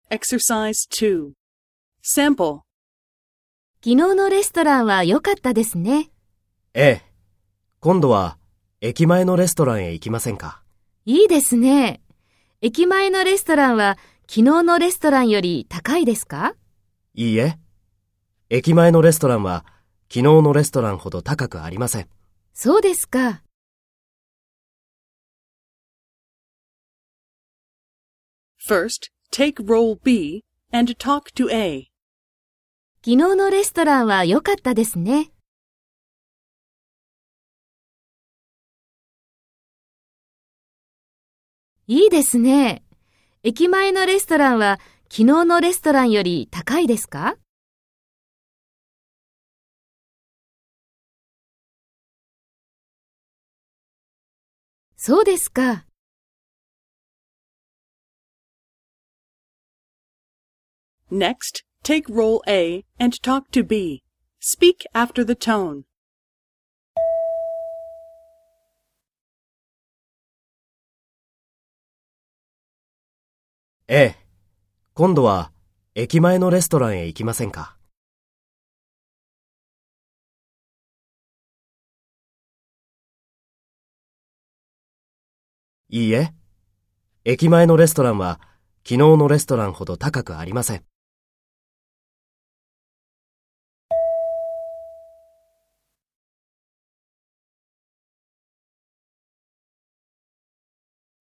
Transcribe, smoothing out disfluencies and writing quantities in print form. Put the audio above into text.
Exercise 2. Sample. 昨日のレストランは良かったですね。 ええ。今度は駅前のレストランへ行きませんか？ いいですね。駅前のレストランは昨日のレストランより高いですか？ いいえ。駅前のレストランは昨日のレストランほど高くありません。 そうですか。 First, take role B and talk to A. 昨日のレストランは良かったですね。いいですね。駅前のレストランは昨日のレストランより高いですか？そうですか。 Next, take role A and talk to B. Speak after the tone. ええ。今度は駅前のレストランへ行きませんか？いいえ。駅前のレストランは昨日のレストランほど高くありません。